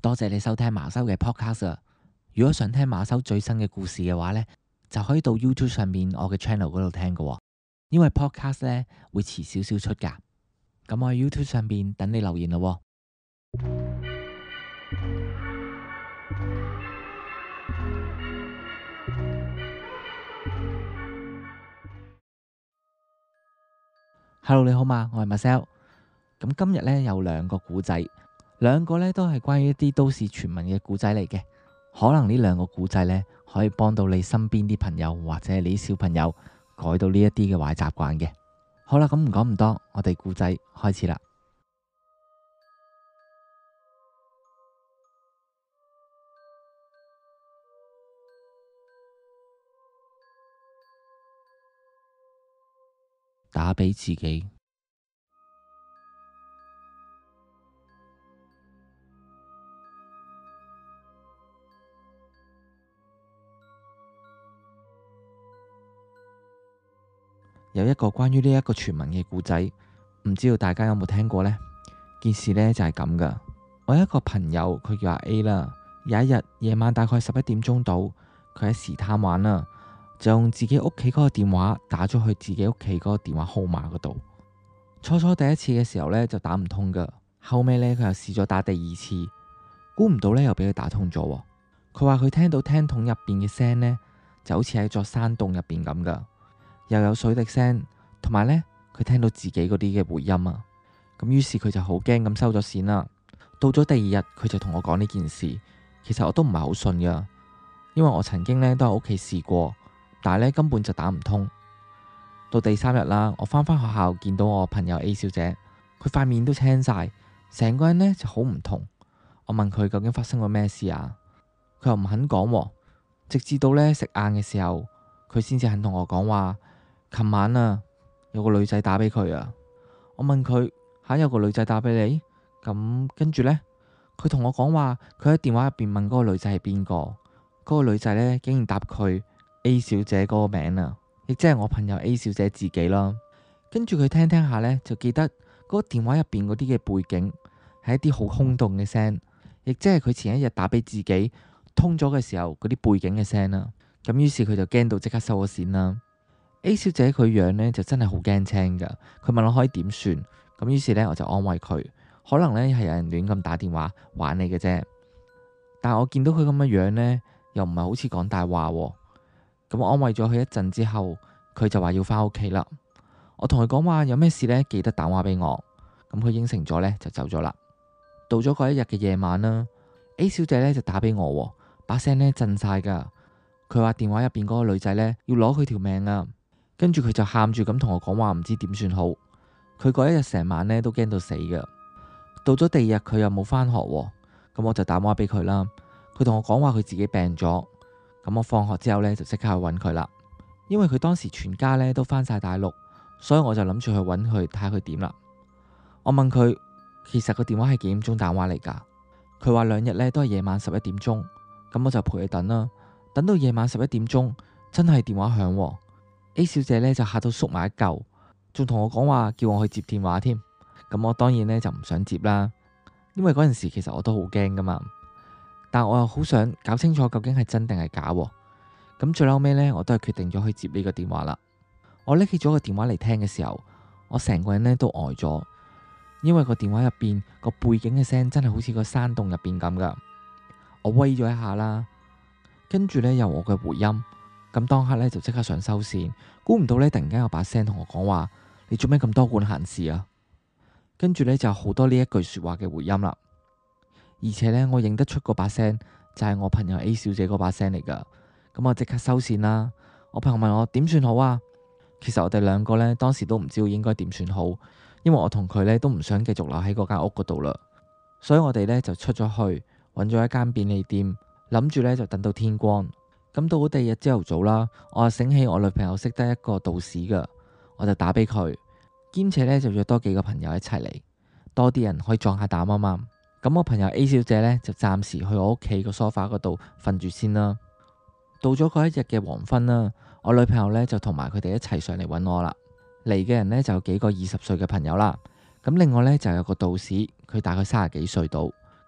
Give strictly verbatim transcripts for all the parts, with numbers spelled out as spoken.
多謝你收聽馬修嘅 podcast。如果想聽馬修最新嘅故事嘅話呢，就可以到 YouTube 上面我嘅 channel 嗰度聽㗎。因為 podcast 呢會遲少少出噶。咁我喺 YouTube 上面等你留言咯。Hello， 你好嘛，我係 Marcel。咁今日呢有兩個故仔，兩個呢都係關於一啲都市傳聞嘅故仔嚟嘅。可能呢兩個故仔呢可以幫到你身邊啲朋友或者你啲小朋友改到呢一啲嘅壞習慣嘅。好啦，咁唔講咁多，我哋故仔開始啦。打俾自己。有一個關於呢一個傳聞嘅故仔，唔知道大家有冇聽過呢？件事呢就係咁噶。我有一個朋友，佢叫阿 A 啦。有一日夜晚大概十一點鐘到，佢喺時貪玩啦，就用自己屋企嗰個電話打咗去自己屋企嗰個電話號碼嗰度。初初第一次嘅時候呢，就打唔通噶，後尾呢，佢又試咗打第二次，估唔到呢，又俾佢打通咗。佢話佢聽到聽筒入邊嘅聲呢，就好似喺座山洞入邊咁噶。又有水滴聲，同埋呢，佢聽到自己嗰啲嘅回音啊。咁於是佢就好驚咁收咗線啦。到咗第二日，佢就同我講呢件事。其實我都唔係好信噶，因為我曾經呢都喺屋企試過，但係呢根本就打唔通。到第三日啦，我返返學校見到我朋友 A 小姐，佢塊面都青晒，成個人呢就好唔同。我問佢究竟發生過咩事啊？佢又唔肯講，直至到呢食晏嘅時候，佢先至肯同我講話。琴晚啊，有個女仔打俾佢啊。我問佢吓，有個女仔打俾你？咁跟住呢，佢同我講話，佢喺電話入邊問嗰個女仔係邊個，嗰個女仔呢，竟然答佢 A 小姐嗰個名啊，亦即係我朋友 A 小姐自己啦。跟住佢聽聽下呢，就記得嗰個電話入邊嗰啲嘅背景係一啲好空洞嘅聲，亦即係佢前一日打俾自己通咗嘅時候嗰啲背景嘅聲啦。咁於是佢就驚到即刻收咗線啦。A 小姐佢樣呢就真係好驚青噶，佢問我可以點算，咁於是呢，我就安慰佢，可能呢係有人亂咁打電話玩你嘅啫。但係我見到佢咁嘅樣呢，又唔係好似講大話，咁我安慰咗佢一陣之後，佢就話要返屋企啦。我同佢講話有咩事呢，記得打電話俾我，咁佢應承咗呢，就走咗啦。到咗嗰一日嘅夜晚啦，A 小姐呢就打俾我，把聲呢震晒噶，佢話電話入邊嗰個女仔呢要攞佢條命啊。跟住佢就喊住咁同我講話，唔知點算好。佢嗰一日成晚呢都驚到死噶。到咗第二日佢又冇返學，咁我就打電話俾佢啦。佢同我講話佢自己病咗，咁我放學之後呢，就即刻去揾佢啦。因為佢當時全家呢都返晒大陸，所以我就諗住去揾佢睇下佢點啦。我問佢其實個電話係幾點鐘打電話嚟噶？佢話兩日呢都係夜晚十一點鐘，咁我就陪佢等啦。等到夜晚十一點鐘，真係電話響。A 小姐呢就嚇到縮埋一嚿，仲同我講話叫我去接電話添。咁我當然呢就唔想接啦，因為嗰陣時其實我都好驚噶嘛。但我又好想搞清楚究竟係真定係假。咁最後尾呢，我都係決定咗去接呢個電話啦。我拎起咗個電話嚟聽嘅時候，我成個人呢都呆咗，因為個電話入邊個背景嘅聲真係好似個山洞入邊咁噶。我威咗一下啦，跟住呢有我嘅回音。咁當刻咧就即刻想收線，估唔到咧突然間有把聲同我講話：你做咩咁多管閒事啊？跟住咧就有好多呢一句說話嘅回音啦，而且咧我認得出嗰把聲就係我朋友 A 小姐嗰把聲嚟噶。咁我即刻收線啦。我朋友問我點算好啊？其實我哋兩個咧當時都唔知道應該點算好，因為我同佢咧都唔想繼續留喺嗰間屋嗰度啦，所以我哋咧就出咗去揾咗一間便利店，諗住咧就等到天光。咁到咗第二日朝頭早啦，我就醒起我女朋友識得一個道士噶，我就打俾佢，兼且呢就約多幾個朋友一齊嚟，多啲人可以壯下膽啊嘛。咁我朋友 A 小姐呢，就暫時去我屋企個梳化嗰度瞓住先啦。到咗嗰一日嘅黃昏啦，我女朋友呢就同埋佢哋一齊上嚟揾我啦。嚟嘅人呢就有幾個二十歲嘅朋友啦，咁另外呢就有個道士，佢大概三十幾歲到，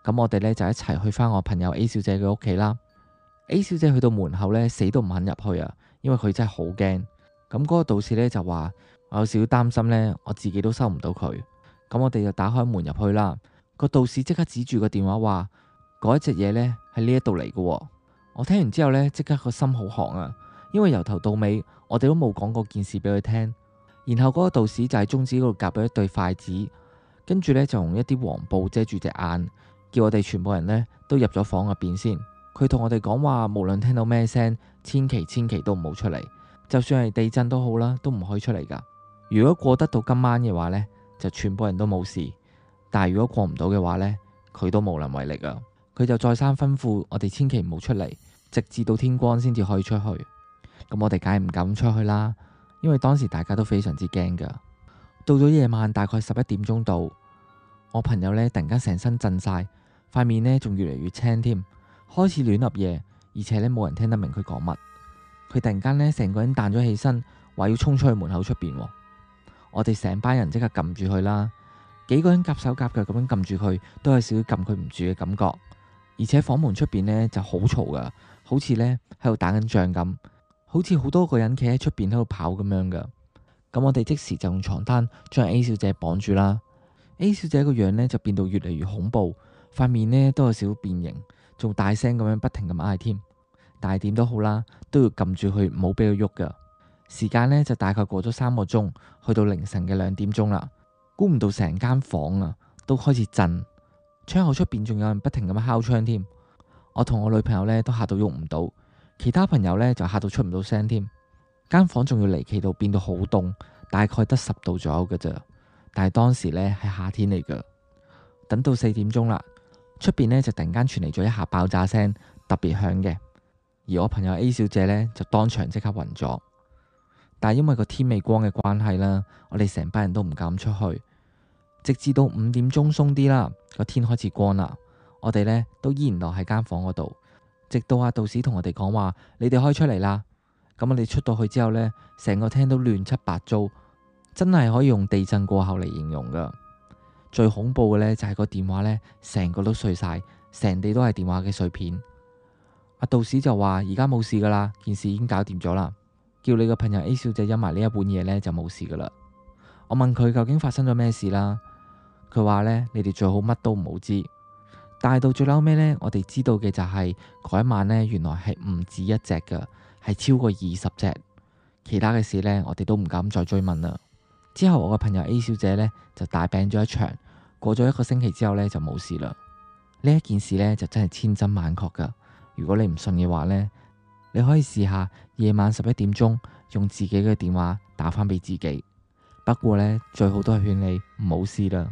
咁我哋呢就一齊去返我朋友 A 小姐嘅屋企啦。A 小姐去到門口呢，死都唔肯入去啊，因為佢真係好驚。咁嗰個道士呢就話：我有少少擔心呢，我自己都收唔到佢。咁我哋就打開門入去啦。個道士即刻指住個電話話：嗰一隻嘢呢喺呢一度嚟嘅。我聽完之後呢，即刻個心好寒啊，因為由頭到尾我哋都冇講過件事俾佢聽。然後嗰個道士就喺中指嗰度夾咗一對筷子，跟住呢就用一啲黃布遮住隻眼，叫我哋全部人呢都入咗房入邊先。佢同我哋講話，無論聽到咩聲，千祈千祈都唔好出嚟，就算係地震都好啦，都唔可以出嚟噶。如果過得到今晚嘅話呢，就全部人都冇事。但係如果過唔到嘅話呢，佢都無能為力啊。佢就再三吩咐我哋千祈唔好出嚟，直至到天光先至可以出去。咁我哋梗係唔敢出去啦，因為當時大家都非常之驚噶。到咗夜晚大概十一點鐘度，我朋友呢突然間成身震晒，塊面呢仲越嚟越青添，開始亂噏嘢，而且呢冇人聽得明佢講乜。佢突然間呢成個人彈咗起身，話要衝出去門口出邊。我哋成班人即刻撳住佢啦，幾個人夾手夾腳咁樣撳住佢，都有少少撳佢唔住嘅感覺。而且房門出邊呢就好嘈噶，好似呢喺度打緊仗咁，好似好多個人企喺出邊喺度跑咁樣噶。咁我哋即時就用床單將 A 小姐綁住啦。A 小姐個樣呢就變到越嚟越恐怖，塊面呢都有少少變形，仲大聲咁樣不停咁嗌添。但係點都好啦，都要撳住佢，唔好俾佢喐噶。時間呢就大概過咗三個鐘，去到凌晨嘅兩點鐘啦。估唔到成間房啊都開始震，窗口出邊仲有人不停咁敲窗添。我同我女朋友呢都嚇到喐唔到，其他朋友呢就嚇到出唔到聲添。間房仲要離奇到變到好凍，大概得十度左右噶咋。但係當時呢係夏天嚟噶。等到四點鐘啦，出邊呢就突然間傳嚟咗一下爆炸聲，特別響嘅。而我朋友 A 小姐呢就當場即刻暈咗。但係因為個天未光嘅關係啦，我哋成班人都唔敢出去，直至到五點鐘鬆啲啦，個天開始光啦，我哋呢都依然留喺間房嗰度，直到阿道士同我哋講話：你哋可以出嚟啦。咁我哋出到去之後呢，成個廳都亂七八糟，真係可以用地震過後嚟形容噶。最恐怖嘅呢，就係個電話呢，成個都碎晒，成地都係電話嘅碎片。阿道士就話：而家冇事噶啦，件事已經搞掂咗啦。叫你個朋友 A 小姐飲埋呢一碗嘢呢，就冇事噶啦。我問佢究竟發生咗咩事啦，佢話呢：「你哋最好乜都唔好知。」但係到最後尾呢，我哋知道嘅就係嗰一晚呢，原來係唔止一隻噶，係超過二十隻。其他嘅事呢，我哋都唔敢再追問啦。之後我個朋友 A 小姐呢，就大病咗一場，過咗一個星期之後呢，就冇事啦。呢一件事呢，就真係千真萬確噶。如果你唔信嘅話呢，你可以試下夜晚十一點鐘用自己嘅電話打返俾自己。不過呢，最好都係勸你唔好試啦。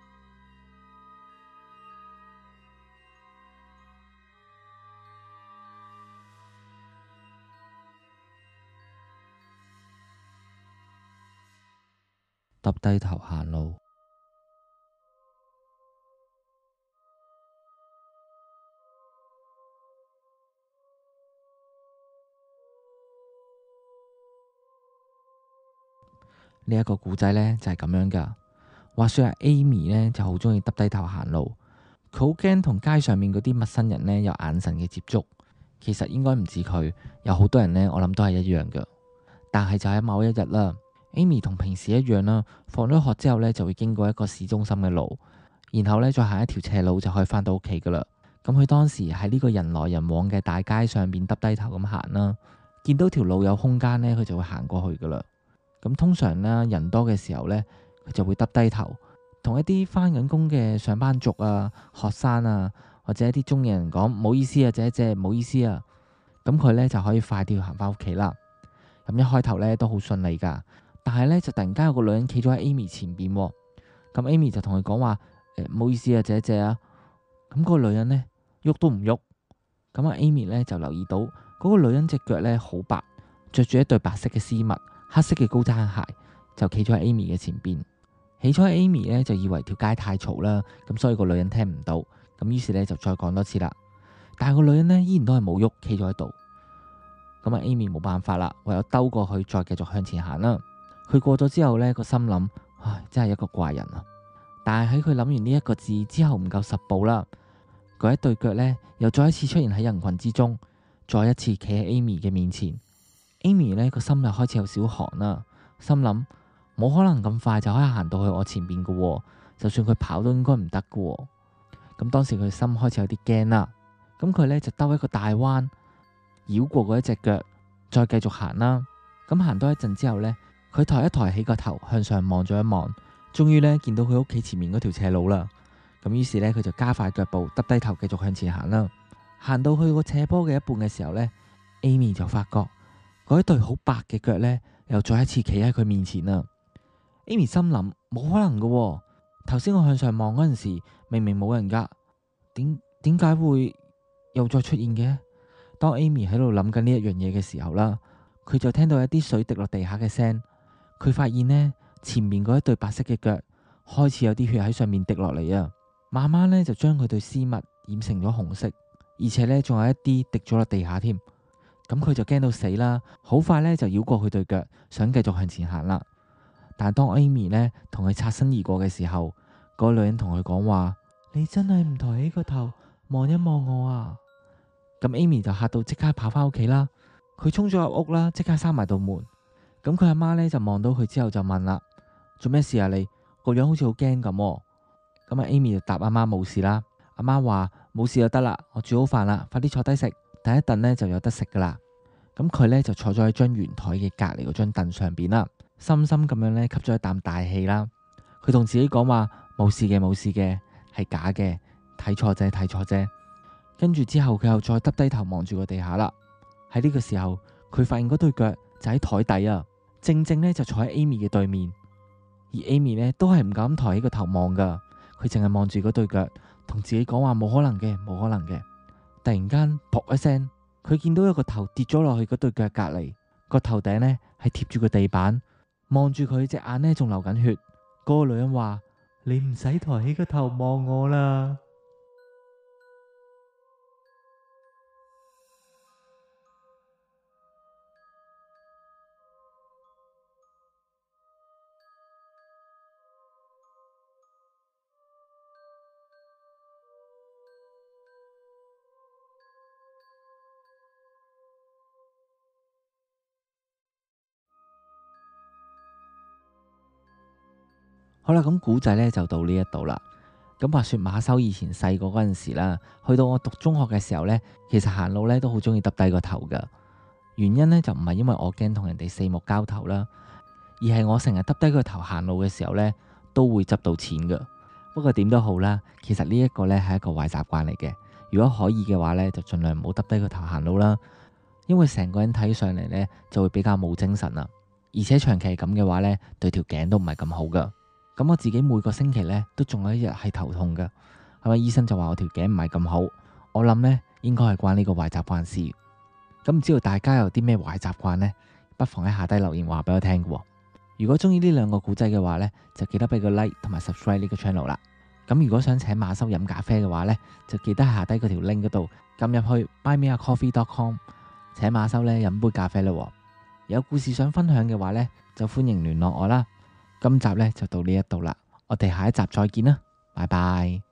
耷低頭行路。呢一個故仔呢，就係咁樣噶。話說阿 Amy 呢就好中意耷低頭行路，佢好驚同街上面嗰啲陌生人呢有眼神嘅接觸。其實應該唔止佢，有好多人呢，我諗都係一樣噶。但係就喺某一日啦，Amy 同平時一樣啦，放咗學之後呢，就會經過一個市中心嘅路，然後呢，再行一條斜路就可以返到屋企噶啦。咁佢當時喺呢個人來人往嘅大街上面耷低頭咁行啦，見到條路有空間呢，佢就會行過去噶啦。咁通常呢，人多嘅時候呢，佢就會耷低頭，同一啲返緊工嘅上班族啊、學生啊，或者一啲中年人講唔好意思啊，姐姐唔好意思啊。咁佢呢就可以快啲行返屋企啦。咁一開頭呢都好順利噶，但係呢，就突然間有個女人企咗喺 Amy 前邊，咁 Amy 就同佢講話：誒，唔好意思啊，姐姐啊。咁嗰個女人呢，喐都唔喐。咁阿 Amy 呢，就留意到嗰個女人隻腳呢好白，着住一對白色嘅絲襪。黑色嘅高踭鞋，就企咗喺 Amy 嘅前邊。起初 Amy 呢就以為條街太嘈啦，咁所以個女人聽唔到，咁於是呢就再講多次啦。但係個女人呢依然都係冇喐，企咗喺度。咁啊 Amy 冇辦法啦，唯有兜過去再繼續向前行啦。佢過咗之後呢，個心諗：唉，真係一個怪人啊！但係喺佢諗完呢一個字之後唔夠十步啦， 嗰一對腳呢，又再一次出現喺人群之中，再一次企喺 Amy 嘅面前。Amy 呢個心就開始有少寒啦，心諗冇可能咁快就可以行到去我前邊噶，就算佢跑都應該唔得噶。咁當時佢心開始有啲驚啦，咁佢呢就兜一個大彎，繞過嗰一隻腳，再繼續行啦。咁行多一陣之後呢，佢抬一抬起個頭向上望咗一望，終於呢見到佢屋企前面嗰條斜路啦。咁於是呢，佢就加快腳步，耷低頭繼續向前行啦。行到去個斜坡嘅一半嘅時候呢，Amy 就發覺嗰一對好白嘅腳呢，又再一次企喺佢面前啦。Amy 心諗冇可能噶喎，頭先我向上望嗰陣時，明明冇人噶，點點解會又再出現嘅？當 Amy 喺度諗緊呢一樣嘢嘅時候啦，佢就聽到一啲水滴落地下嘅聲。佢發現呢，前面嗰一對白色嘅腳開始有啲血喺上面滴落嚟啊，慢慢呢，就將佢對絲襪染成咗紅色，而且呢，仲有一啲滴咗落地下添。咁佢就驚到死啦，好快呢，就繞過佢對腳，想繼續向前行啦。但係當 Amy 呢同佢擦身而過嘅時候，嗰個女人同佢講話：你真係唔抬起個頭望一望我啊！咁 Amy 就嚇到即刻跑翻屋企啦。佢衝咗入屋啦，即刻閂埋道門。咁佢阿媽呢就望到佢之後就問啦：做咩事啊？你個樣好似好驚咁。咁啊 Amy 就答阿媽冇事啦。阿媽話冇事就得啦，我煮好飯啦，快啲坐低食，等一陣呢就有得食噶啦。咁佢呢就坐咗喺張圓台嘅隔籬嗰張凳上邊啦，深深咁樣呢吸咗一啖大氣啦。佢同自己講話冇事嘅，冇事嘅，係假嘅，睇錯啫，睇錯啫。跟住之後佢又再耷低頭望住個地下啦。喺呢個時候佢發現嗰對腳就喺台底啊，正正呢就坐喺 Amy 嘅對面，而 Amy 呢都係唔敢抬起個頭望噶，佢淨係望住嗰對腳，同自己講話冇可能嘅，冇可能嘅。突然間噗一聲，佢見到有個頭跌咗落去嗰對腳隔籬，個頭頂呢係貼住個地板，望住佢隻眼呢仲流緊血。嗰個女人話：你唔使抬起個頭望我啦。好啦，咁古仔呢就到呢一度啦。咁話說馬修以前細個嗰陣時啦，去到我讀中學嘅時候呢，其實行路呢都好中意耷低個頭噶。原因呢就唔係因為我驚同人哋四目交投啦，而係我成日耷低個頭行路嘅時候呢，都會執到錢噶。不過點都好啦，其實呢一個呢係一個壞習慣嚟嘅。如果可以嘅話呢，就盡量唔好耷低個頭行路啦，因為成個人睇上嚟呢就會比較冇精神啦。而且長期咁嘅話呢，對條頸都唔係咁好噶。咁我自己每個星期呢都仲有一日係頭痛噶，係咪？醫生就話我條頸唔係咁好，我諗呢應該係關呢個壞習慣事。咁唔知道大家有啲咩壞習慣呢？不妨喺下低留言話俾我聽噶。如果中意呢兩個古仔嘅話呢，就記得俾個 like 同埋 subscribe 呢個 channel 啦。咁如果想請馬修飲咖啡嘅話呢，就記得喺下低嗰條 link 嗰度撳入去 buy me a coffee dot com， 請馬修呢飲杯咖啡啦。有故事想分享嘅話呢，就歡迎聯絡我啦。今集呢就到呢一度啦，我哋下一集再見啦，拜拜。